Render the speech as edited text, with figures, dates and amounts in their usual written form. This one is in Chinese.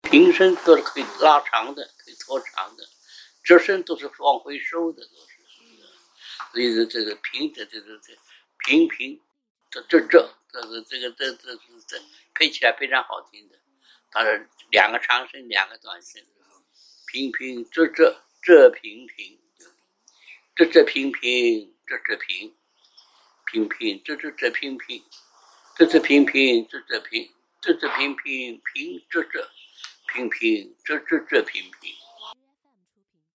平声都是可以拉长的，可以拖长的，折声都是往回收的，都是。所以这个平这平平这配起来非常好听的。当然两个长声，两个短声，平平这平平，这平平这平平平这平平，这平平这平平平这平平这平平。